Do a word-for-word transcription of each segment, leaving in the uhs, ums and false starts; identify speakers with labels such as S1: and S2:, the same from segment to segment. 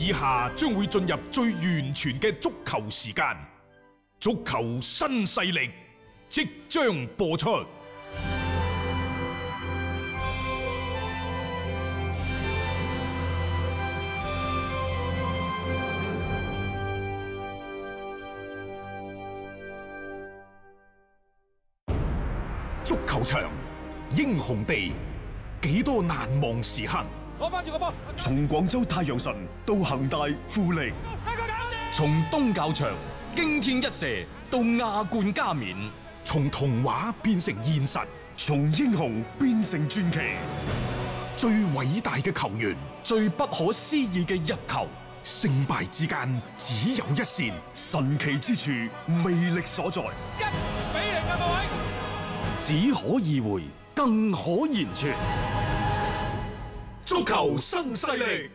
S1: 以下將會進入最完全嘅足球時間，足球新勢力即將播出。足球場，英雄地，幾多難忘時刻。
S2: 攞翻住個波，
S3: 從廣州太陽神到恒大富力，
S4: 從東較場驚天一射到亞冠加冕，
S1: 從童話變成現實，
S3: 從英雄變成傳奇。
S1: 最偉大嘅球員，
S4: 最不可思議嘅入球，
S1: 勝敗之間只有一線，
S3: 神奇之處魅力所在。
S2: 一比零啊，各位！
S4: 只可意會，更可言傳。
S1: 足球新勢力，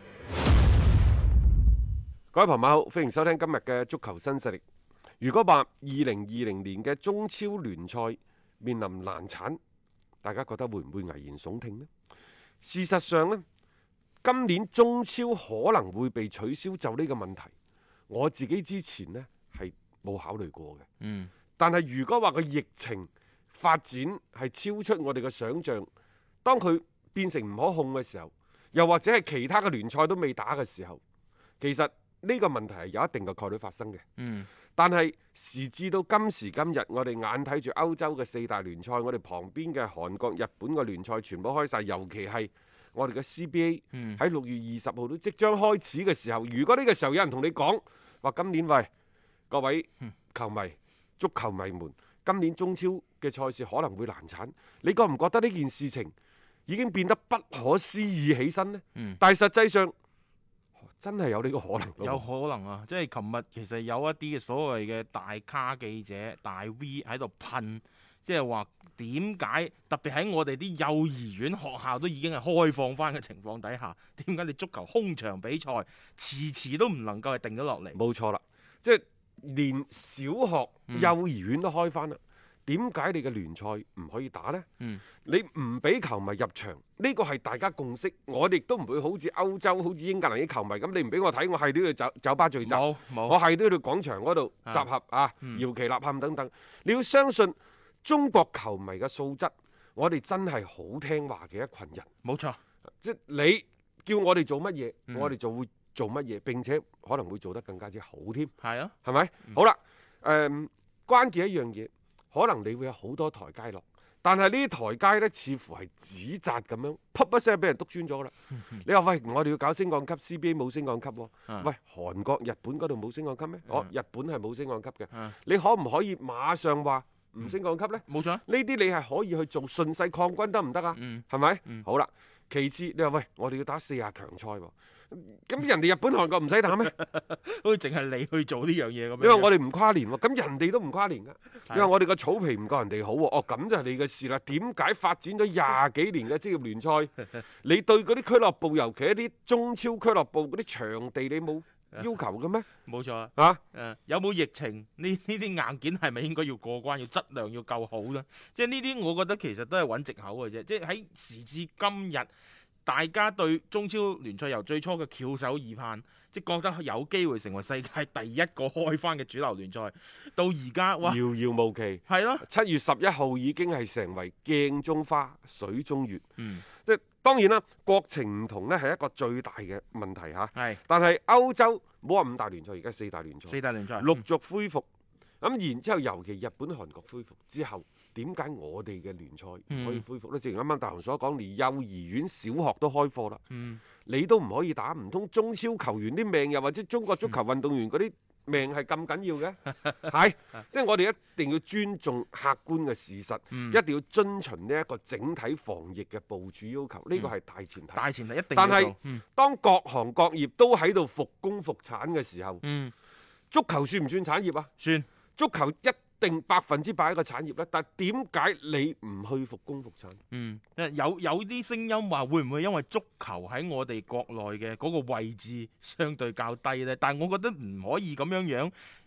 S5: 各位朋友好，歡迎收聽今日嘅足球新勢力。如果話二零二零年嘅中超聯賽面臨難產，大家覺得會唔會危言聳聽呢？事實上呢，今年中超可能會被取消，就呢個問題，我自己之前呢係冇考慮過嘅。
S6: 嗯，
S5: 但係如果話個疫情發展係超出我哋嘅想象，當佢變成唔可控嘅時候，又或者係其他嘅聯賽都未打嘅時候，其實呢個問題係有一定嘅概率發生嘅。
S6: 嗯，
S5: 但係時至到今時今日，我哋眼睇住歐洲嘅四大聯賽，我哋旁邊嘅韓國、日本嘅聯賽全部開晒，尤其係我哋嘅 C B A 喺六月二十號都即將開始嘅時候，如果呢個時候有人同你講話今年喂各位球迷、足球迷們，今年中超嘅賽事可能會難產，你覺唔覺得呢件事情已經變得不可思議起身呢？
S6: 嗯、
S5: 但係實際上真係有呢個可能。
S6: 有可能啊！即係琴日其實有一啲嘅所謂嘅大咖記者、大 V 喺度噴，即係話點解特別喺我哋啲幼兒園學校都已經係開放翻嘅情況底下，點解你足球空場比賽遲遲都唔能夠係定咗落嚟？
S5: 冇錯啦，即係連小學、
S6: 嗯、
S5: 幼兒園都開翻啦。點解你嘅聯賽唔可以打呢？
S6: 嗯、你
S5: 唔俾球迷入場，呢個係大家共識。我哋都唔會好似歐洲、好似英格蘭啲球迷咁，你唔俾我睇，我係都要酒酒吧聚集，我係都要到廣場嗰度集合啊，搖、嗯、旗吶喊等等。你要相信中國球迷嘅素質，我哋真係好聽話嘅一群人。
S6: 冇錯，
S5: 即係你叫我哋做乜嘢，
S6: 嗯、
S5: 我哋就會做乜嘢，並且可能會做得更加之好添。
S6: 係啊，
S5: 係咪？
S6: 嗯、
S5: 好啦，誒、嗯，關鍵一樣嘢。可能你會有好多台階落，但係呢啲台階呢，似乎係紙紮咁樣，噗一聲俾人篤穿咗啦。你話喂，我哋要搞升降級 ，C B A 冇升降級喎、哦。喂，韓國、日本嗰度冇升降級咩？哦，日本係冇升降級嘅。你可唔可以馬上話唔升降級呢？
S6: 冇錯，呢
S5: 啲你係可以去做順勢抗軍得唔得啊？係咪？好啦，其次你話喂，我哋要打四十強賽喎。咁人哋日本韓國唔使打咩？
S6: 好似淨係你去做呢樣嘢咁樣。
S5: 因為我哋唔跨年喎，咁人哋都唔跨年噶。因為我哋個草皮唔夠人哋好喎。哦，咁就係你嘅事啦。點解發展咗廿幾年嘅職業聯賽，你對嗰啲俱樂部，尤其一啲中超俱樂部嗰啲場地，你冇要求嘅咩？
S6: 冇錯啊。
S5: 啊，
S6: 誒，有冇疫情？呢呢啲硬件係咪應該要過關？要質量要夠好咧？即係呢啲，我覺得其實都係揾藉口嘅啫。即係喺時至今日。大家對中超聯賽由最初嘅翹首以盼，即係覺得有機會成為世界第一個開翻嘅主流聯賽，到而家哇，
S5: 遙遙無期。
S6: 係咯，
S5: 七月十一號已經係成為鏡中花、水中月。
S6: 嗯，
S5: 即係當然啦，國情唔同呢係一個最大嘅問題嚇。
S6: 係，
S5: 但係歐洲冇話五大聯賽，而家四大聯賽，
S6: 四大聯賽
S5: 陸續恢復。咁、嗯、然之後，尤其日本、韓國恢復之後，點解我哋嘅聯賽唔可以恢復呢？嗯、正如啱啱大雄所講，連幼兒園、小學都開課啦，
S6: 嗯、
S5: 你都唔可以打，唔通中超球員啲命，又或者中國足球運動員嗰啲命係咁緊要嘅？係，即係我哋一定要尊重客觀嘅事實，
S6: 嗯、
S5: 一定要遵循呢一個整體防疫嘅部署要求，呢、呢個係大前提。
S6: 大前提一定要做。
S5: 但係、
S6: 嗯、
S5: 當各行各業都喺度復工復產嘅時候，
S6: 嗯、
S5: 足球算唔算產業啊？
S6: 算。
S5: 足球一定百分之百一個產業咧，但係點解你唔去復工復產？
S6: 嗯，有有啲聲音話會唔會因為足球喺我哋國內嘅嗰個位置相對較低呢？但係我覺得唔可以咁樣樣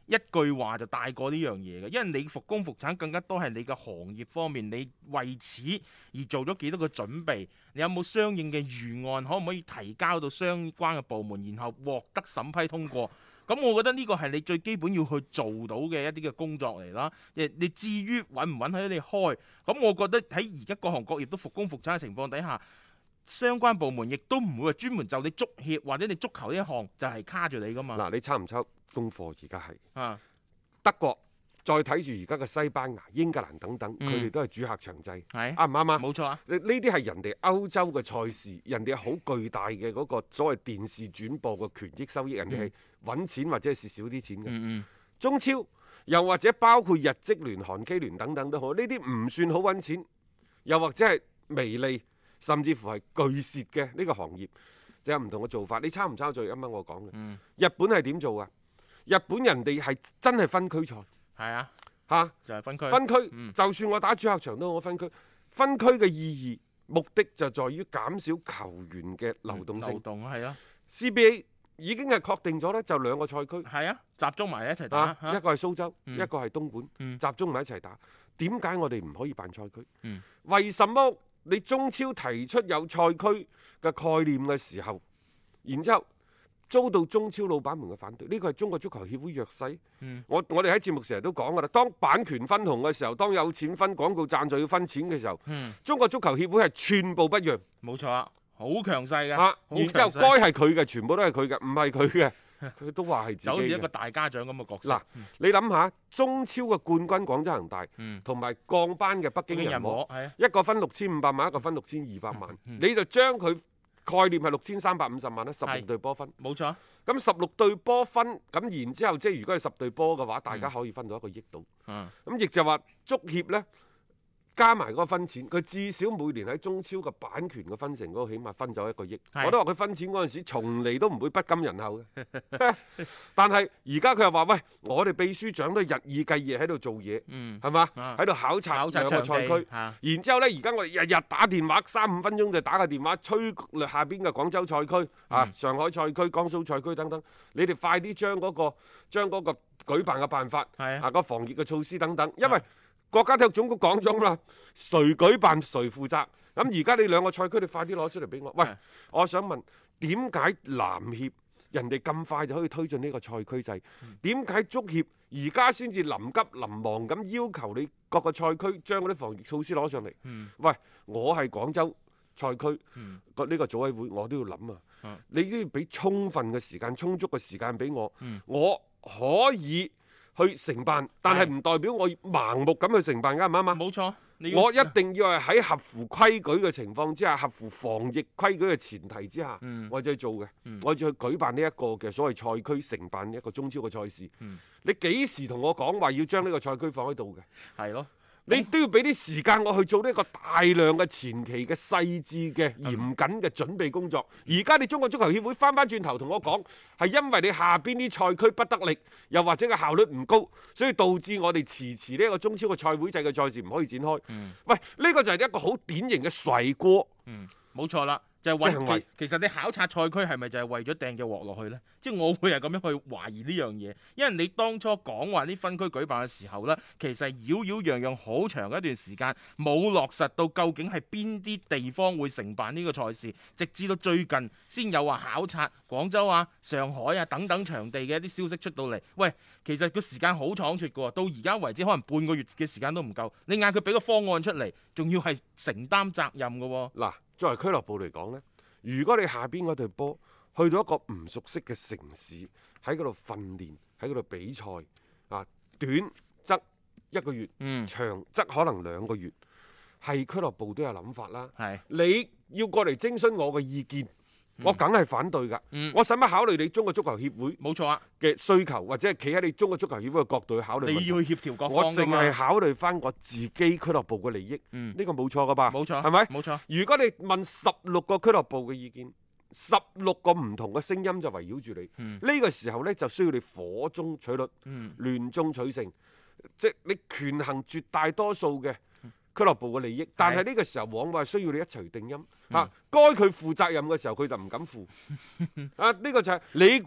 S6: 一句話就帶過呢樣嘢嘅，因為你復工復產更加多係你嘅行業方面，你為此而做咗幾多個準備，你有冇相應嘅預案，可唔可以提交到相關嘅部門，然後獲得審批通過？咁我覺得呢個係你最基本要去做到嘅一啲嘅工作嚟啦。誒，你至於允唔允許你開，咁我覺得喺而家各行各業都復工復產嘅情況底下，相關部門亦都唔會話專門就你足協或者你足球呢一項就係卡住你噶嘛。
S5: 嗱，你抄唔抄功課？而家係
S6: 啊，
S5: 德國，再睇住而家嘅西班牙、英格蘭等等，佢哋、
S6: 嗯、
S5: 都係主客場制，
S6: 係
S5: 啱唔啱啊？
S6: 冇錯啊。
S5: 呢啲係人哋歐洲嘅賽事，人哋好巨大嘅嗰個所謂電視轉播嘅權益收益，人哋係揾錢或者係蝕少啲錢嘅。
S6: 嗯嗯
S5: 中超又或者包括日職聯、韓 K 聯等等都好，呢啲唔算好揾錢，又或者係微利，甚至乎係巨蝕嘅呢個行業，就有唔同嘅做法。你抄唔抄就啱啱我講嘅？
S6: 嗯、
S5: 日本係點做啊？日本人哋係真係分區賽，
S6: 係啊，
S5: 嚇、啊、
S6: 就係、是、分區。
S5: 分區，
S6: 嗯、
S5: 就算我打主客場都好，我分區。分區嘅意義目的就在於減少球員嘅流動性。
S6: 流動係啊
S5: C B A 已經係確定咗呢，就兩個賽區。
S6: 係啊，集中埋一齊打。
S5: 啊
S6: 啊
S5: 一個係蘇州，
S6: 嗯、
S5: 一個係東莞，
S6: 嗯、
S5: 集中埋一齊打。點解我哋唔可以辦賽區？
S6: 嗯、
S5: 為什麼你中超提出有賽區嘅概念嘅時候，然之後遭到中超老闆們嘅反對？呢個係中國足球協會弱勢。
S6: 嗯、
S5: 我我哋喺節目成日都講㗎啦，當版權分紅嘅時候，當有錢分廣告贊助要分錢嘅時候，
S6: 嗯、
S5: 中國足球協會係寸步不讓。
S6: 冇錯啊，好強勢㗎。
S5: 啊，然之後該係佢嘅，全部都係佢嘅，唔係佢嘅，佢都話係自己嘅。
S6: 就好似一個大家長咁嘅角色。
S5: 嗱，你諗下，中超嘅冠軍廣州恒大，同埋、嗯、降班嘅北京人和，一個分六千五百萬，一個分六千二百萬，嗯嗯、你就將佢概念係六千三百五十萬啦，十六隊波分。
S6: 冇錯。
S5: 咁十六隊波分，咁然之後即係如果係十隊波嘅話，大家可以分到一個億到。
S6: 嗯。
S5: 咁亦就話足協呢，加埋嗰個分錢，佢至少每年喺中超嘅版權嘅分成嗰個，起碼分走一個億。是我都話佢分錢嗰陣時，從嚟都唔會不甘人後嘅。但係而家佢又話：喂，我哋秘書長都日以繼夜喺度做嘢，係嘛、嗯？喺度考察兩個賽區。然之後呢，而家我哋日日打電話，三五分鐘就打個電話，催下邊嘅廣州賽區、嗯、啊、上海賽區、江蘇賽區等等，你哋快啲將嗰個將嗰個舉辦嘅辦法，
S6: 啊，
S5: 啊個防疫嘅措施等等，因為國家體育總局講咗啦，誰舉辦誰負責。咁而家你兩個賽區，你快啲攞出嚟俾我。喂，我想問點解籃協人哋咁快就可以推進呢個賽區制？點解足協而家先至臨急臨忙咁要求你各個賽區將嗰啲防疫措施攞上嚟？
S6: 嗯、
S5: 喂，我係廣州賽區個呢、
S6: 嗯、
S5: 個組委會，我都要諗啊！
S6: 嗯、
S5: 你都要俾充分嘅時間、充足嘅時間俾我，
S6: 嗯、
S5: 我可以去承辦，但係唔代表我盲目咁去承辦，啱唔啱啊？
S6: 冇錯，
S5: 我一定要係喺合乎規矩嘅情況之下，合乎防疫規矩嘅前提之下，
S6: 嗯、
S5: 我就去做嘅，
S6: 嗯、
S5: 我就去舉辦呢一個嘅所謂賽區，承辦一個中超嘅賽事。
S6: 嗯、
S5: 你幾時同我講話要將呢個賽區放喺度嘅？
S6: 係咯。
S5: 你都要俾啲時間我去做呢個大量嘅前期嘅細緻嘅嚴謹嘅準備工作。而家你中國足球協會翻翻轉頭同我講，係因為你下邊啲賽區不得力，又或者個效率唔高，所以導致我哋遲遲呢一個中超嘅賽會制嘅賽事唔可以展開。
S6: 嗯、
S5: 喂，呢個就係一個好典型嘅甩鍋。
S6: 嗯，冇錯啦。就係為其，其實你考察賽區係咪就係為咗掟隻鑊落去呢？即係我會係咁樣去懷疑呢樣嘢，因為你當初講話啲分區舉辦嘅時候呢，其實擾擾攘攘好長一段時間，冇落實到究竟係邊啲地方會承辦呢個賽事，直至到最近先有話考察廣州啊、上海啊等等場地嘅一啲消息出到嚟。喂，其實個時間好倉促嘅喎，到而家為止可能半個月嘅時間都唔夠，你嗌佢俾個方案出嚟，仲要係承擔責任嘅喎。
S5: 嗱，作為俱樂部嚟講呢，如果你下邊嗰隊波去到一個唔熟悉嘅城市，喺嗰度訓練，喺嗰度比賽，啊，短則一個月，
S6: 嗯、
S5: 長則可能兩個月，係俱樂部都有諗法啦。
S6: 係
S5: 你要過嚟徵詢我嘅意見，嗯、我梗係反對㗎。
S6: 嗯、
S5: 我使乜考慮你中國足球協會
S6: 冇錯啊
S5: 嘅需求，或者係企喺你中國足球協會嘅角度去考慮？
S6: 你要去協調各方㗎嘛。
S5: 我淨係考慮翻我自己俱樂部嘅利益。呢、
S6: 嗯、
S5: 個冇錯㗎吧？
S6: 冇錯，
S5: 係咪？
S6: 冇錯。
S5: 如果你問十六個俱樂部嘅意見，十六個唔同嘅聲音就圍繞住你。呢、嗯、個時候呢，就需要你火中取栗，
S6: 嗯、
S5: 亂中取勝，即係你權衡絕大多數嘅俱樂部嘅利益。嗯、但係呢個時候往往係需要你一齊定音嚇。該佢負責任嘅時候，佢就唔敢負。啊，呢、呢個就係、是、你估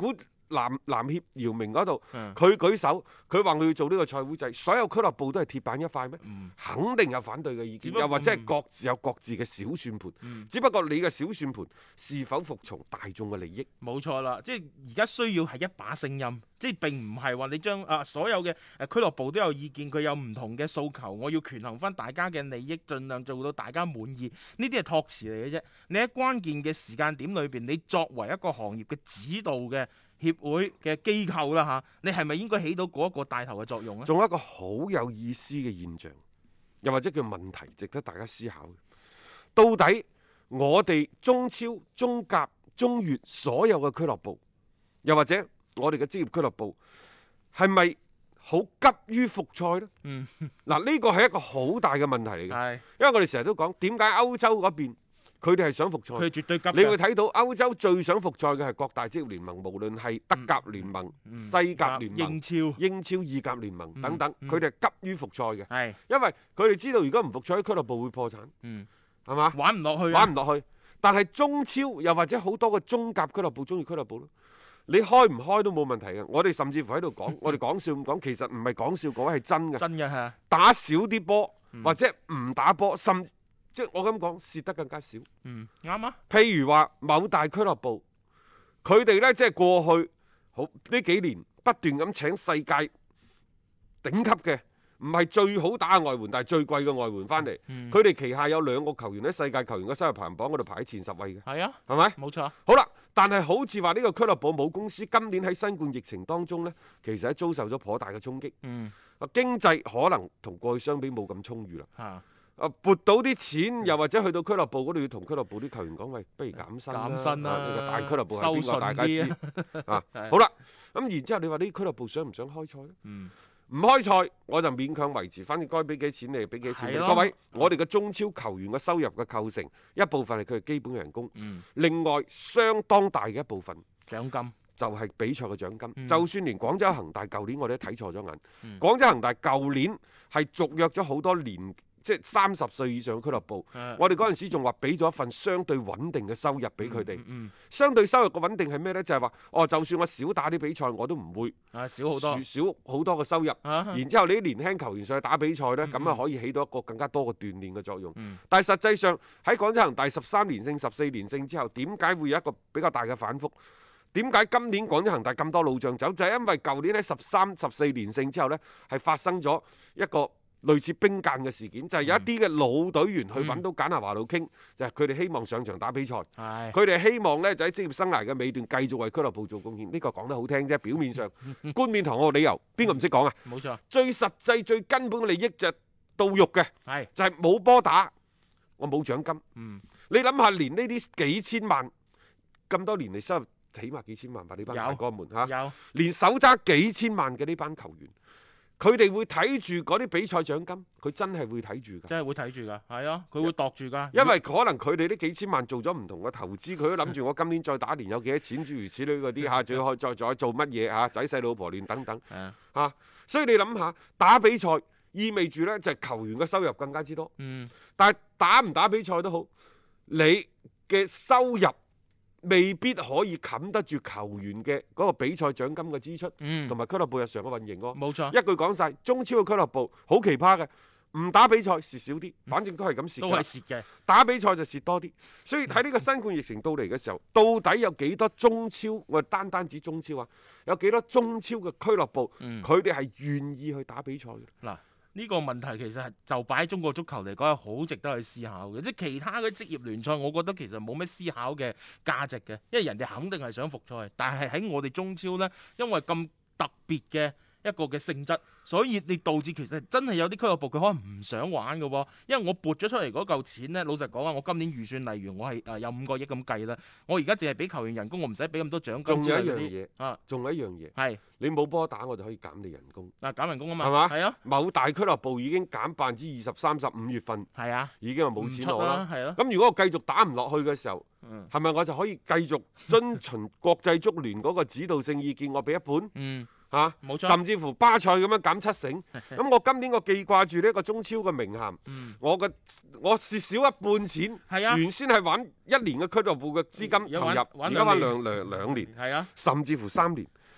S5: 籃籃協姚明嗰度，
S6: 嗯
S5: 佢舉手，佢話佢要做呢個賽會制，所有俱樂部都係鐵板一塊咩？
S6: 嗯
S5: 肯定有反對嘅意見，
S6: 只不過
S5: 又或者係各自有各自嘅小算盤。
S6: 嗯
S5: 只不過你嘅小算盤是否服從大眾嘅利益？
S6: 冇錯啦，即係而家需要係一把聲音，即係並唔係話你將啊所有嘅誒俱樂部都有意見，佢有唔同嘅訴求，我要權衡翻大家嘅利益，盡量做到大家滿意。呢啲係託詞嚟嘅啫。你喺關鍵嘅時間點裏邊，你作為一個行業嘅指導嘅協會嘅機構啦嚇，你係咪應該起到嗰一個帶頭嘅作用咧？
S5: 仲有一個好有意思嘅現象，又或者叫問題，值得大家思考嘅。到底我哋中超、中甲、中乙所有嘅俱樂部，又或者我哋嘅職業俱樂部，係咪好急於復賽呢？
S6: 嗯，
S5: 嗱，呢個係一個好大嘅問題嚟嘅，
S6: 係，
S5: 因為我哋成日都講點解歐洲嗰邊佢哋係想復賽。
S6: 佢絕對急嘅。
S5: 你會睇到歐洲最想復賽嘅係各大職業聯盟，無論係德甲聯盟、
S6: 嗯
S5: 西甲聯盟、
S6: 英超
S5: 英超、意甲聯盟等等，
S6: 嗯嗯
S5: 佢哋係急於復賽嘅，
S6: 係，
S5: 因為佢哋知道如果唔復賽，俱樂部會破產，
S6: 嗯，
S5: 係嘛？
S6: 玩唔落去啊，
S5: 玩唔落去。但係中超又或者好多個中甲俱樂部、中乙俱樂部咯，你開唔開都冇問題嘅。我哋甚至乎喺度講，我哋講笑咁講，其實唔係講笑，講係真嘅。
S6: 真嘅係，
S5: 打少啲波
S6: 嗯
S5: 或者唔打波，甚即係我咁講，蝕得更加少。
S6: 嗯，啱啊，
S5: 譬如話某大俱樂部，佢哋呢，即係過去好呢幾年不斷咁請世界頂級嘅，唔係最好打嘅外援，但係最貴嘅外援翻嚟。
S6: 嗯
S5: 佢哋旗下有兩個球員喺世界球員嘅收入排行榜嗰度排喺前十位嘅，
S6: 係啊，
S5: 係咪？
S6: 冇錯，
S5: 好啦，但係好似話呢個俱樂部母公司今年喺新冠疫情當中呢，其實係遭受咗頗大嘅衝擊。
S6: 嗯，
S5: 啊，經濟可能同過去相比冇咁充裕啦。
S6: 嚇，
S5: 啊，撥到啲錢，又或者去到俱樂部嗰度要同俱樂部啲球員講，喂，不如減薪啦。
S6: 減薪啦
S5: 啊呢個大俱樂部係邊個？
S6: 收順
S5: 大家知
S6: 啲
S5: 啊
S6: 係。
S5: 好啦，咁然之後你話呢啲俱樂部想唔想開賽咧？
S6: 嗯，
S5: 唔開賽我就勉強維持，反正該俾幾錢你就俾幾錢你。
S6: 係咯
S5: 各位，我哋嘅中超球員嘅收入嘅構成，一部分係佢嘅基本人工，
S6: 嗯，
S5: 另外相當大嘅一部分
S6: 獎金，
S5: 就係比賽嘅獎金。
S6: 嗯
S5: 就算連廣州恒大舊年我哋都睇錯咗眼，
S6: 嗯
S5: 廣州恒大舊年係續約咗好多年，即係三十歲以上嘅俱樂部。
S6: 誒
S5: 我哋嗰陣時仲話俾咗一份相對穩定嘅收入俾佢哋。
S6: 嗯嗯
S5: 相對收入嘅穩定係咩呢？就係話，哦，就算我少打啲比賽，我都唔會
S6: 嗯，啊，少好多，
S5: 少好多嘅收入。
S6: 啊，
S5: 然之後你啲年輕球員上去打比賽呢，
S6: 嗯
S5: 咁啊可以起到一個更加多嘅鍛鍊嘅作用。
S6: 嗯
S5: 但係實際上喺廣州恒大十三連勝、十四連勝之後，點解會有一個比較大嘅反覆？點解今年廣州恒大咁多老將走？就係因為舊年喺十三、十四連勝之後呢，係發生咗一個類似兵諫嘅事件，就係有一啲嘅老隊員去揾到簡拿華路傾，就係佢哋希望上場打比賽。
S6: 係，
S5: 佢哋希望呢，就喺職業生涯嘅尾段繼續為俱樂部做貢獻。呢個講得好聽啫，表面上冠冕堂皇嘅理由，邊個唔識講啊？
S6: 冇錯，
S5: 最實際、最根本嘅利益就係到肉嘅，
S6: 係，
S5: 就係冇波打，我冇獎金。
S6: 嗯，
S5: 你諗下，連呢啲幾千萬咁多年嚟收入，起碼幾千萬吧？呢班
S6: 有
S5: 大哥們嚇，
S6: 有，
S5: 連手揸幾千萬嘅呢班球員，佢哋會睇住嗰啲比賽獎金，佢真係會睇住㗎。
S6: 真係會睇住㗎，係啊，佢會度住㗎，
S5: 因為可能佢哋呢幾千萬做咗唔同嘅投資，佢都諗住我今年再打年有幾多錢，諸如此類嗰啲嚇，仲要再再做乜嘢嚇，仔細老婆亂等等
S6: 係啊，
S5: 嚇。所以你諗下，打比賽意味住呢就係球員嘅收入更加之多。
S6: 嗯，
S5: 但係打唔打比賽都好，你嘅收入未必可以冚得住球員嘅嗰個比賽獎金嘅支出，
S6: 嗯
S5: 同，埋俱樂部日常嘅運營咯。
S6: 冇錯，
S5: 一句講晒，中超嘅俱樂部好奇葩嘅，唔打比賽蝕少啲，反正都係咁蝕
S6: 都
S5: 㗎
S6: 係蝕嘅，
S5: 打比賽就蝕多啲。所以喺呢個新冠疫情到嚟嘅時候，到底有幾多中超？我哋單單指中超啊，有幾多中超嘅俱樂部，
S6: 嗯
S5: 佢哋係願意去打比賽嘅？
S6: 嗱。呢個問題其實係就擺喺中國足球嚟講係好值得去思考嘅，即係其他嘅職業聯賽，我覺得其實冇咩思考嘅價值嘅，因為人哋肯定係想復賽，但係喺我哋中超呢，因為咁特別嘅一個嘅性質，所以你導致其實真係有啲俱樂部佢可能唔想玩嘅喎，因為我撥咗出嚟嗰嚿錢呢，老實講啊，我今年預算例如我係誒有五個億咁計啦，我而家淨係俾球員人工，我唔使俾咁多獎金
S5: 仲有一樣
S6: 之類嗰啲
S5: 嘢，
S6: 啊，
S5: 仲有一樣嘢，
S6: 係
S5: 你冇波打，我就可以減你人工，
S6: 嗱減人工啊嘛，
S5: 係嘛？
S6: 係啊，
S5: 某大俱樂部已經減百分之二十、三十，五月份
S6: 係啊，
S5: 已經係冇錢攞啦。
S6: 係咯，
S5: 咁如果我繼續打唔落去嘅時候，
S6: 嗯
S5: 係咪我就可以繼續遵循國際足聯嗰個指導性意見，我俾一半
S6: 嗯，
S5: 嚇？
S6: 冇錯，
S5: 甚至乎巴塞咁樣減七成，咁我今年我記掛住呢一個中超嘅名銜，
S6: 嗯，
S5: 我嘅我蝕少一半錢，
S6: 係啊。
S5: 原先係玩一年嘅俱樂部嘅資金
S6: 而家玩
S5: 投入，
S6: 玩
S5: 而家玩
S6: 兩
S5: 兩兩兩年，
S6: 係啊，
S5: 甚至乎三年。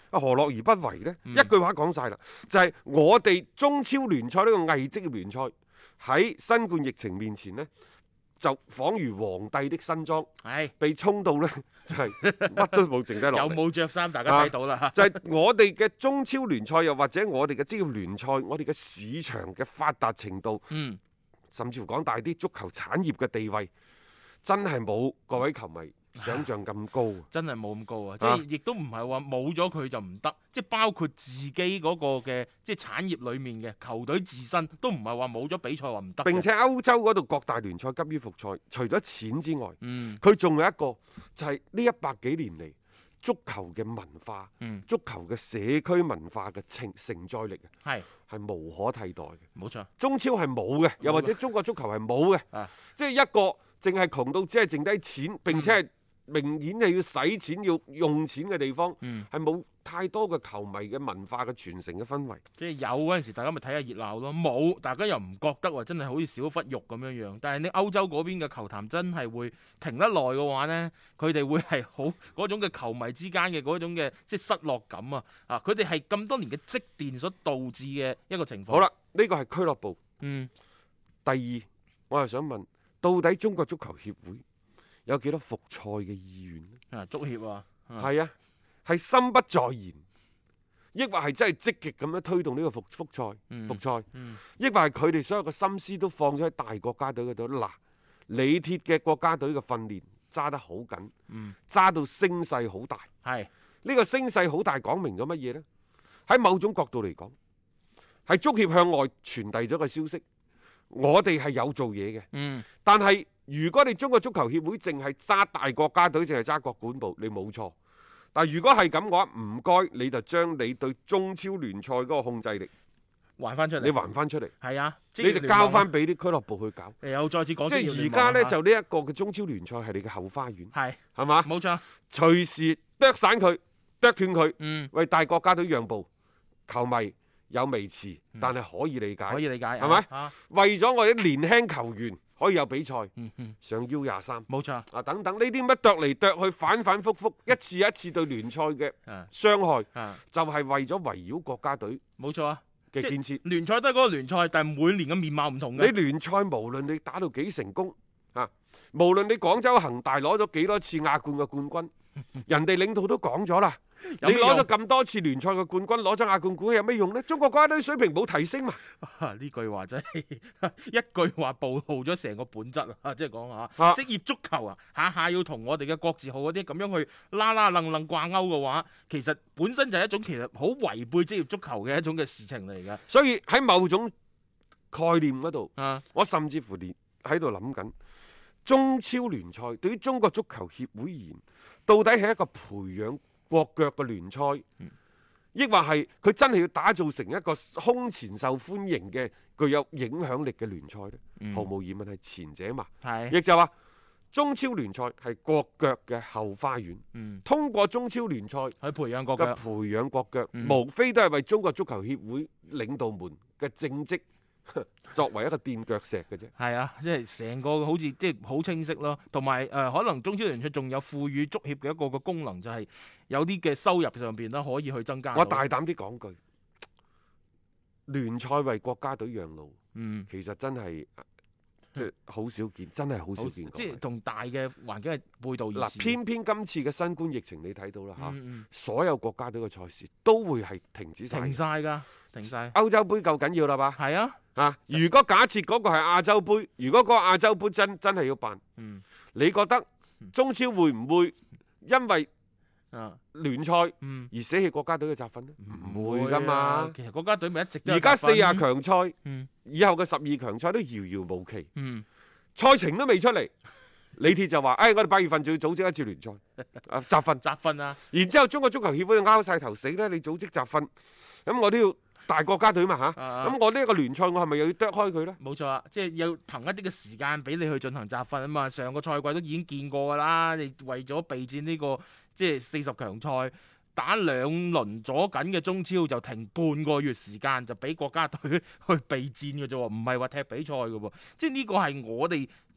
S5: 啊何樂而不為呢？
S6: 嗯
S5: 一句話講晒啦，就係、我哋中超聯賽呢個偽職業聯賽喺新冠疫情面前呢，就彷如皇帝的新裝，
S6: 係
S5: 被衝到呢，就係、乜都冇剩低落嚟。
S6: 有冇着衫大家睇到啦。
S5: 就係我哋嘅中超聯賽，又或者我哋嘅職業聯賽，我哋嘅市場嘅發達程度，
S6: 嗯，
S5: 甚至乎講大啲，足球產業嘅地位，真係冇各位球迷想象咁高。
S6: 真係冇咁高啊！即係亦都唔係話冇咗佢就唔得，即係包括自己嗰個嘅即係產業裡面嘅球隊自身都唔係話冇咗比賽話唔得嘅。
S5: 並且歐洲嗰度各大聯賽急於復賽，除咗錢之外，
S6: 嗯
S5: 佢仲有一個就係呢一百幾年嚟足球嘅文化，
S6: 嗯
S5: 足球嘅社區文化嘅承承載力啊，
S6: 係
S5: 係無可替代嘅。
S6: 冇錯。
S5: 中超係冇嘅，又或者中國足球係冇嘅，
S6: 啊
S5: 即係一個淨係窮到只係剩低錢，並且係明顯係要使錢要用錢嘅地方，
S6: 嗯
S5: 係冇太多嘅球迷嘅文化嘅傳承嘅氛圍。
S6: 即係有嗰陣時，大家咪睇下熱鬧咯；冇，大家又唔覺得話真係好似少忽肉咁樣樣。但係你歐洲嗰邊嘅球壇真係會停得耐嘅話呢，佢哋會係好嗰種嘅球迷之間嘅嗰種嘅即係失落感啊！啊，佢哋係咁多年嘅積澱所導致嘅一個情況。
S5: 好啦，呢個係俱樂部。
S6: 嗯，
S5: 第二，我又想問，到底中國足球協會有幾多復賽嘅意願呢？
S6: 啊，足協啊，
S5: 係啊，係心不在焉，抑或係真係積極咁樣推動呢個復復賽、
S6: 嗯
S5: 復賽，
S6: 嗯
S5: 抑或係佢哋所有嘅心思都放咗喺大國家隊嗰度。嗱，李鐵嘅國家隊嘅訓練揸得好緊，
S6: 嗯，
S5: 揸到聲勢好大。
S6: 係
S5: 呢個聲勢好大，講明咗乜嘢呢？喺某種角度嚟講，係足協向外傳遞咗個消息，我哋係有做嘢嘅。
S6: 嗯
S5: 但係如果你中國足球協會淨係揸大國家隊，淨係揸國管部，你冇錯。但係如果係咁嘅話，唔該你就將你對中超聯賽嗰個控制力，
S6: 還翻出嚟，
S5: 你還翻出嚟，
S6: 係啊，
S5: 你就交翻俾啲俱樂部去搞。
S6: 誒又再次講，
S5: 即係而家呢，就呢一個嘅中超聯賽係你嘅後花園，
S6: 係
S5: 係嘛？
S6: 冇錯，
S5: 隨時剁散佢、剁斷佢，
S6: 嗯，
S5: 為大國家隊讓步，球迷有微詞，但係可以理解，
S6: 可以理解，
S5: 係咪？
S6: 啊，
S5: 為咗我哋年輕球員可以有比賽，
S6: 嗯嗯，
S5: 上 U 廿三
S6: 冇錯，
S5: 啊等等呢啲乜剁嚟剁去，反反覆覆，一次一次對聯賽嘅
S6: 啊
S5: 傷害，
S6: 啊，
S5: 就係為咗圍繞國家隊
S6: 冇錯啊。
S5: 嘅建設。
S6: 聯賽都係嗰個聯賽，但係每年嘅面貌唔同
S5: 你
S6: 嘅。
S5: 聯賽無論你打到幾成功啊，無論你廣州恒大攞咗幾多次亞冠嘅冠軍，人哋領導都講咗啦。
S6: 有咩用
S5: 你攞咗咁多次聯賽嘅冠軍，攞咗亞冠冠有咩用呢？中國國家隊水平冇提升嘛？
S6: 啊呢句話真係一句話暴露咗成個本質啊！即係講下
S5: 啊
S6: 職業足球啊，下下要同我哋嘅國字號嗰啲咁樣去啦啦楞楞掛鈎嘅話，其實本身就係一種其實好違背職業足球嘅一種嘅事情嚟㗎。
S5: 所以喺某種概念嗰度，
S6: 啊，
S5: 我甚至乎連喺度諗緊，中超聯賽對於中國足球協會而言，到底係一個培養國腳嘅聯賽，抑或係佢真係要打造成一個空前受歡迎嘅、具有影響力嘅聯賽呢？
S6: 嗯
S5: 毫無疑問係前者嘛。
S6: 係，
S5: 亦就話中超聯賽係國腳嘅後花園，
S6: 嗯，
S5: 通過中超聯賽
S6: 去培養國腳。
S5: 嘅培養國腳，
S6: 嗯
S5: 無非都係為中國足球協會領導們嘅政績作為一個墊腳石嘅啫。
S6: 係啊，即係成個好似即係好清晰咯，同埋誒可能中超聯賽仲有賦予足協嘅一個個功能，就係有啲嘅收入上邊啦，可以去增加到。
S5: 我大膽啲講句，聯賽為國家隊讓路，
S6: 嗯，
S5: 其實真係即係好少見，真係好少見。
S6: 即係同大嘅環境係背道而
S5: 嗱，
S6: 馳。
S5: 偏偏今次嘅新冠疫情你睇到啦嚇，
S6: 嗯嗯
S5: 所有國家隊嘅賽事都會係停止晒。
S6: 停晒㗎，停晒。
S5: 歐洲杯夠緊要啦吧？
S6: 係啊，
S5: 啊！如果假設嗰個係亞洲杯，如果嗰個亞洲杯真真係要辦，
S6: 嗯
S5: 你覺得中超會唔會因為
S6: 啊
S5: 聯賽
S6: 嗯，
S5: 而捨棄國家隊嘅集訓呢？唔會噶嘛
S6: 啊。其實國家隊咪一直都有
S5: 而家四廿
S6: 集訓
S5: 強賽，
S6: 嗯
S5: 以後嘅十二強賽都遙遙無期，
S6: 嗯
S5: 賽程都未出嚟。李鐵就話：，誒、哎，我哋八月份就要組織一次聯賽，啊，集訓。
S6: 集訓啊，
S5: 然之後中國足球協會就拗晒頭死咧，你組織集訓，咁我都要大國家隊嘛嚇，咁、
S6: 啊
S5: 我呢一個聯賽我係咪又要剁開佢呢？
S6: 冇錯啊，即係要憑一啲嘅時間俾你去進行集訓啊嘛。上個賽季都已經見過㗎啦，你為咗備戰呢、個即係四十強賽。打兩輪咗緊嘅中超就停半個月時間，就俾國家隊去備戰嘅啫喎，唔係話踢比賽嘅喎。即係呢個係我哋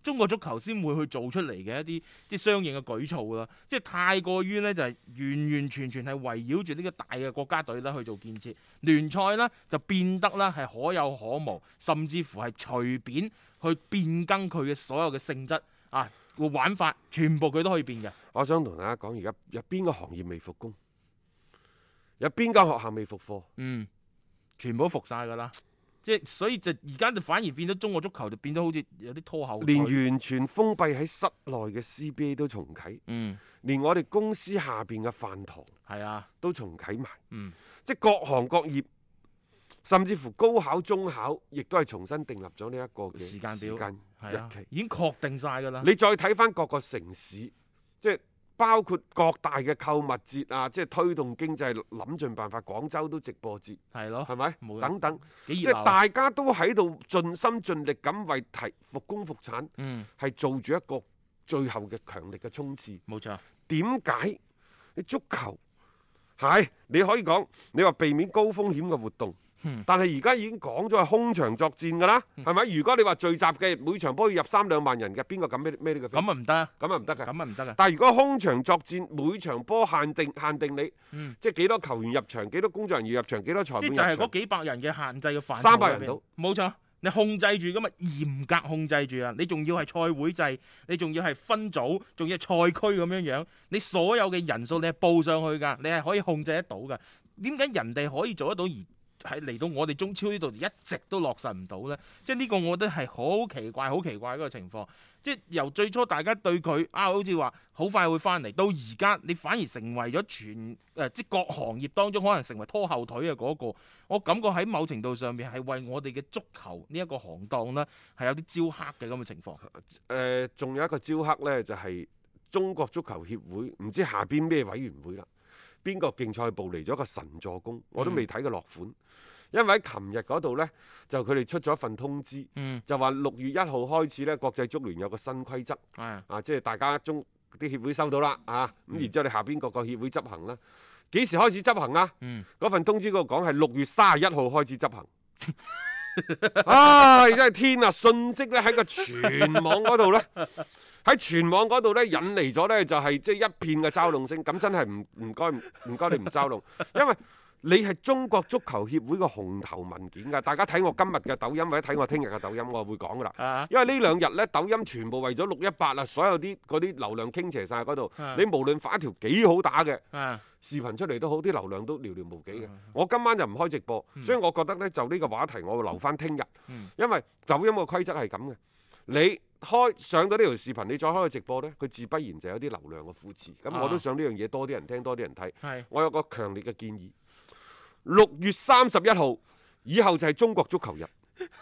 S6: 中國足球先會去做出嚟嘅一啲即係相應嘅舉措啦。即係太過於呢，就係、是、完完全全係圍繞住呢個大嘅國家隊啦去做建設，聯賽呢，就變得啦係可有可無，甚至乎係隨便去變更佢嘅所有嘅性質啊個玩法，全部佢都可以變嘅。
S5: 我想同大家講，而家有邊個行業未復工？有邊間學校未復課？
S6: 嗯，全部都復晒㗎啦。即係所以就而家就反而變咗中國足球就變咗好似有啲拖後腿，
S5: 連完全封閉喺室內嘅 C B A 都重啟，
S6: 嗯，
S5: 連我哋公司下邊嘅飯堂
S6: 係啊，
S5: 都重啟埋，
S6: 嗯，
S5: 即係各行各業，甚至乎高考、中考，亦都係重新訂立咗呢一個嘅
S6: 時間表
S5: 時間
S6: 係啊
S5: 日期，
S6: 已經確定晒㗎啦。
S5: 你再睇翻各個城市，即係包括各大嘅購物節啊，即係推動經濟，諗盡辦法。廣州都直播節，
S6: 係咯，
S5: 係咪？
S6: 冇
S5: 等等，即
S6: 幾熱鬧
S5: 係大家都喺度盡心盡力咁為提復工復產，
S6: 嗯，
S5: 係做住一個最後嘅強力嘅衝刺。
S6: 冇錯，
S5: 點解你足球係你可以講，你話避免高風險嘅活動，
S6: 嗯
S5: 但係而家已經講咗係空場作戰㗎啦，係咪、如果你話聚集嘅每場波要入三兩萬人嘅，邊個敢孭孭呢個飛？
S6: 咁啊唔得啊，
S5: 咁啊唔得㗎。
S6: 咁啊唔得啊，
S5: 但係如果空場作戰，每場波限定限定你，
S6: 嗯
S5: 即係幾多球員入場，幾多工作人員入場，幾多裁判入場
S6: 即係就係嗰。幾百人嘅限制嘅範圍
S5: 三百人到，
S6: 冇錯。你控制住咁啊，嚴格控制住啊！你仲要係賽會制，你仲要係分組，仲要係賽區咁樣樣，你所有嘅人數你係報上去㗎，你係可以控制得到㗎。點解人哋可以做得到而係嚟到我哋中超呢度一直都落實唔到呢？即係呢個我覺得係好奇怪、好奇怪嗰個情況。即係由最初大家對佢啊，好似話好快會翻嚟，到而家你反而成為咗全誒、呃，即係各行業當中可能成為拖後腿嘅嗰、個。我感覺喺某程度上面係為我哋嘅足球呢一個行當呢係有啲招黑嘅咁嘅情況。
S5: 誒、呃，仲有一個招黑呢，就係、中國足球協會，唔知下邊咩委員會啦，邊個競賽部嚟咗個神助攻，我都未睇過落款。嗯因為喺琴日嗰度呢，就佢哋出咗一份通知，
S6: 嗯，
S5: 就話六月一號開始呢，國際足聯有個新規則，
S6: 係
S5: 啊，即係大家中啲協會收到啦，啊，咁然之後你下邊各個協會執行啦。幾時開始執行啊？
S6: 嗯，
S5: 嗰份通知嗰度講係六月三十一號開始執行。唉，真係天啊！信息咧喺個全網嗰度呢，喺全網嗰度呢，引嚟咗呢，就係即係一片嘅嘲弄聲。咁真係唔唔該唔該你唔嘲弄，因為你係中國足球協會嘅紅頭文件㗎。大家睇我今日嘅抖音或者睇我聽日嘅抖音，我會講㗎啦。
S6: 啊，
S5: 因為呢兩日呢，抖音全部為咗六一八啦，所有啲嗰啲流量傾斜晒嗰度。
S6: 啊
S5: 你無論發一條幾好打嘅
S6: 啊，
S5: 視頻出嚟都好，啲流量都寥寥無幾嘅。
S6: 嗯
S5: 我今晚就唔開直播，
S6: 嗯
S5: 所以我覺得呢，就呢個話題我會留翻聽日，
S6: 嗯
S5: 因為抖音個規則係咁嘅。你開上到呢條視頻，你再開個直播呢，佢自不然就有啲流量嘅扶持。咁
S6: 啊
S5: 我都想呢樣嘢多啲人聽，多啲人睇。
S6: 係
S5: 我有個強烈嘅建議，六月三十一號以後就係中國足球日。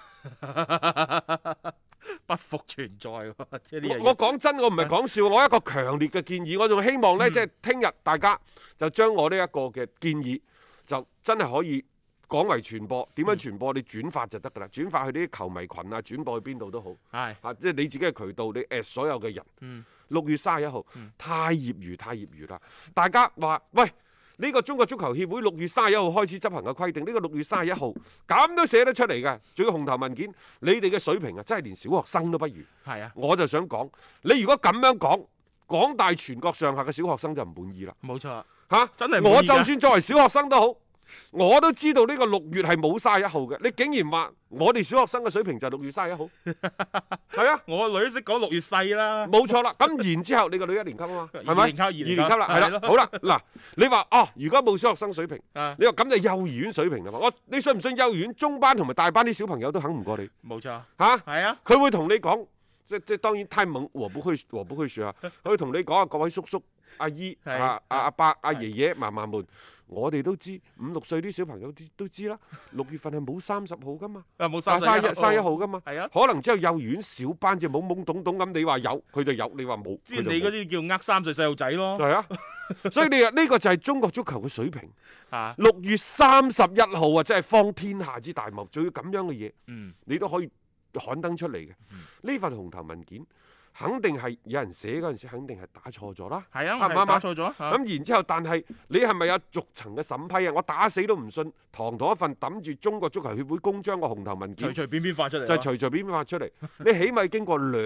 S6: 不復存在喎，即係呢樣嘢
S5: 我我講真，我唔係講笑，我一個強烈嘅建議，我仲希望呢，
S6: 嗯
S5: 即係聽日大家就將我呢一個嘅建議，就真係可以廣為傳播。點樣傳播？你轉發就得㗎啦，轉發去啲球迷群啊，轉播去邊度都好。
S6: 係
S5: 啊，即係你自己嘅渠道，你 at 所有嘅人。
S6: 嗯
S5: 六月三十一號
S6: 嗯，
S5: 太業餘，太業餘啦！大家話喂。呢個中國足球協會六月三十一號開始執行嘅規定，呢、呢個六月三十一號咁都寫得出嚟嘅，仲要紅頭文件，你哋嘅水平啊，真係連小學生都不如。
S6: 係啊，
S5: 我就想講，你如果咁樣講，廣大全國上下嘅小學生就唔滿意啦。
S6: 冇錯，
S5: 嚇、
S6: 真係唔滿意㗎
S5: 我就算作為小學生都好，我都知道呢個六月係冇三十一號嘅。你竟然話我哋小學生嘅水平就係六月三十一號，係啊，
S6: 我個女都識講六月細啦，
S5: 冇錯啦。咁然之後，你個女一年級啊嘛，係咪？
S6: 二年級二年級
S5: 二年級啦，係啦。好啦，嗱，你話哦，如果冇小學生水平，
S6: 啊，
S5: 你話咁就幼兒園水平啦嘛。我你信唔信幼兒園中班同埋大班啲小朋友都肯唔過你
S6: 冇錯，
S5: 嚇？
S6: 係啊，
S5: 佢會同你講，即即當然太猛，我不去，我不去説啊。佢會同你講啊，各位叔叔、阿姨、
S6: 係
S5: 啊阿阿伯、阿爺爺、嫲嫲們，我哋都知五六歲啲小朋友都都知啦。六月份係冇三十號噶嘛，
S6: 啊冇
S5: 三
S6: 三
S5: 十一三一號噶嘛。
S6: 係啊，
S5: 可能只有幼兒園小班就懵懵懂懂咁，你話有佢就有，你話冇
S6: 即係你嗰啲叫呃三歲細路仔咯，
S5: 係啊。所以你話呢個就係中國足球嘅水平。
S6: 啊，
S5: 六月三十一號啊，真係方天下之大謬，仲要咁樣嘅嘢，
S6: 嗯，
S5: 你都可以刊登出嚟嘅。呢份紅頭文件肯定係有人寫嗰陣時，肯定係打錯咗啦。
S6: 係啊，
S5: 啱唔啱啊
S6: 係打錯咗，啊
S5: 咁然之後，但係你係咪有逐層嘅審批啊？我打死都唔信，堂堂一份揼住中國足球協會公章嘅紅頭文件
S6: 隨隨便便發出嚟，
S5: 就係隨隨便便發出嚟。你起碼經過兩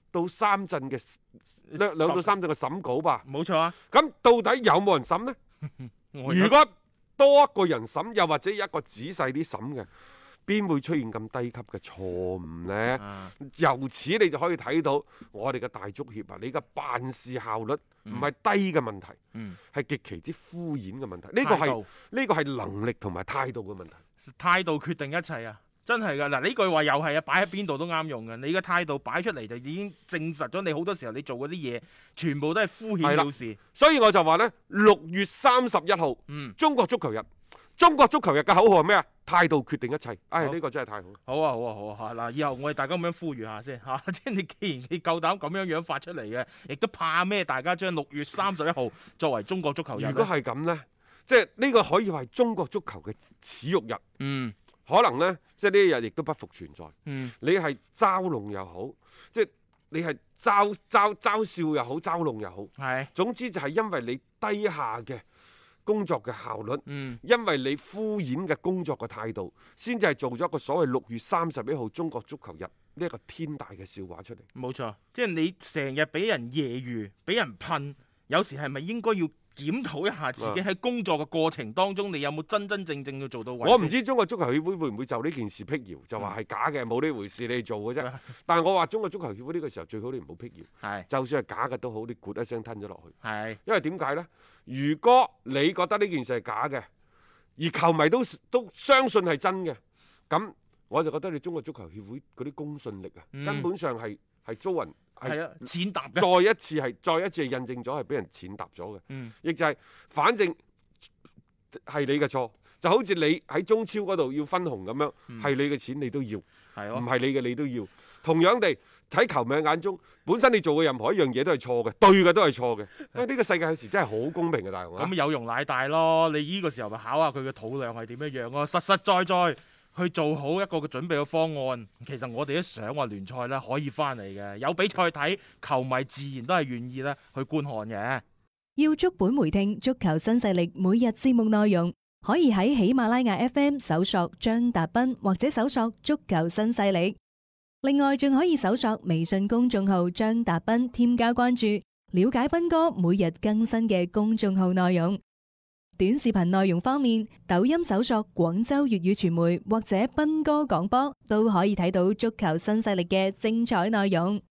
S5: 到三陣嘅兩兩到三陣嘅審稿吧。
S6: 冇錯啊。
S5: 咁到底有冇人審呢？
S6: 我
S5: 如果多一個人審，又或者一個仔細啲審嘅，邊會出現咁低級嘅錯誤呢？
S6: 啊、
S5: 由此你就可以睇到我哋嘅大足協啊，你嘅辦事效率唔係低嘅問題，係、
S6: 嗯、
S5: 極其之敷衍嘅問題。呢、呢個係呢個係能力同埋態度嘅問題。
S6: 態度決定一切啊！真係㗎嗱，呢句話又係啊，擺喺邊度都啱用嘅。你嘅態度擺出嚟就已經證實咗你好多時候你做嗰啲嘢，全部都係敷衍了事。
S5: 所以我就話呢，六月三十一號，
S6: 嗯，
S5: 中國足球日。中國足球日嘅口號係咩啊？態度決定一切。唉、哎，呢、呢個真係太好。
S6: 好啊，好啊，好啊！嗱，以後我哋大家咁樣呼籲下先嚇，即係你既然你夠膽咁樣樣發出嚟嘅，亦都怕咩？大家將六月三十一號作為中國足球日。
S5: 如果係咁呢，即係呢個可以話係中國足球嘅恥辱日。
S6: 嗯。
S5: 可能呢，即係呢一日亦都不復存在。
S6: 嗯，
S5: 你係嘲弄又好，即係你係嘲嘲嘲笑又好，嘲弄又好，
S6: 係。
S5: 總之就係因為你低下嘅工作嘅效率，
S6: 嗯，
S5: 因為你敷衍嘅工作嘅態度，先至係做咗一個所謂六月三十一號中國足球日呢一個天大嘅笑話出嚟。
S6: 冇錯，即係你成日俾人揶揄，俾人噴，有時係咪應該要檢討一下自己喺工作嘅過程當中，你有冇真真正正去做到位？
S5: 我唔知中國足球協會會唔會就呢件事辟謠，就話係假嘅，冇呢回事，你做嘅啫。但係我話中國足球協會呢個時候最好你唔好辟謠，
S6: 係，就
S5: 算係假嘅都好，你咕一聲吞咗落去。
S6: 係，
S5: 因為點解呢？如果你覺得呢件事係假嘅，而球迷都都相信係真嘅，咁我就覺得你中國足球協會嗰啲公信力啊，
S6: 嗯、
S5: 根本上係係遭人
S6: 係啊踐踏嘅。
S5: 再一次係再一次係印證咗係俾人踐踏咗嘅。亦、
S6: 嗯、
S5: 就係、是、反正係你嘅錯，就好似你喺中超嗰度要分紅咁樣，係、嗯、你嘅錢你都要，唔係、嗯、你嘅你都要。同樣地喺球迷眼中，本身你做嘅任何一樣嘢都係錯嘅，對嘅都係錯嘅。因為呢個世界有時真係好公平嘅，大雄啊！
S6: 咁有容乃大咯，你呢個時候咪考下佢嘅肚量係點樣樣咯，實實在在去做好一個嘅準備嘅方案。其實我哋都想話聯賽咧可以翻嚟嘅，有比賽睇，球迷自然都係願意咧去觀看嘅。
S7: 要足本回聽足球新勢力每日節目內容，可以喺喜馬拉雅 F M 搜索張達斌或者搜索足球新勢力。另外仲可以搜索微信公眾號張達斌，添加關注，了解斌哥每日更新嘅公眾號內容。短視頻內容方面，抖音搜索廣州粵語傳媒或者斌哥廣播，都可以睇到足球新勢力嘅精彩內容。